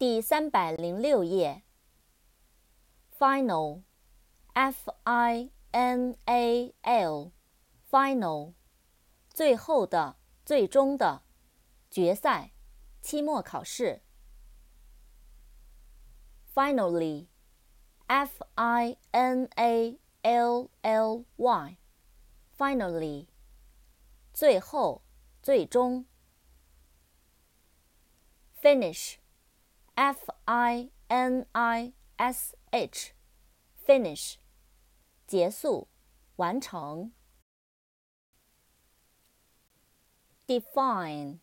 第306页。Final, F-I-N-A-L, Final, 最后的、最终的、决赛、期末考试。Finally, F-I-N-A-L-L-Y, Finally, 最后、最终。Finish, F-I-N-I-S-H, Finish, 结束、完成。Define,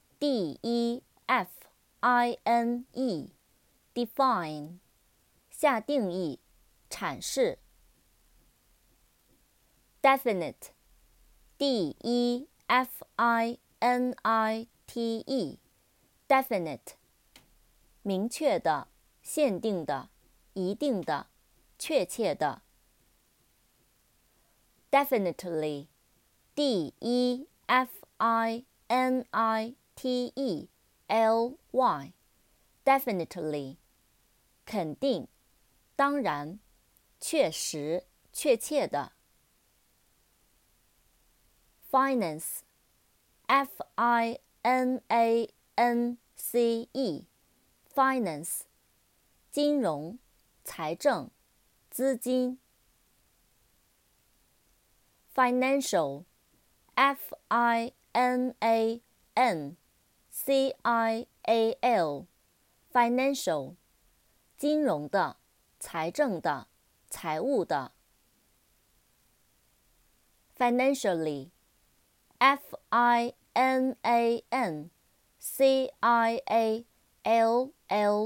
D-E-F-I-N-E, Define, 下定义、阐释。Definite, D-E-F-I-N-I-T-E, Definite, 明确的、限定的、一定的、确切的。Definitely, D-E-F-I-N-I-T-E-L-Y, Definitely, 肯定、当然、确实、确切的。Finance, F-I-N-A-N-C-E, Finance, 金融、财政、资金。Financial, F-I-N-A-N-C-I-A-L, Financial, 金融的、财政的、财务的。Financially,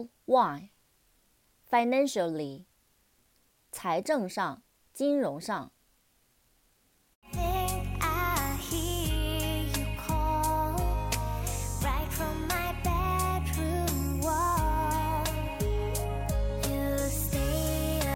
F-I-N-A-N-C-I-A-L-L-Y, Financially, 财政上、金融上。